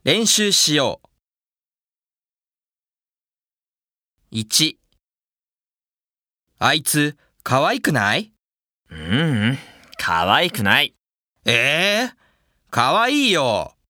練習しよう。1、あいつ、可愛くない？ 可愛くない。 可愛いよ。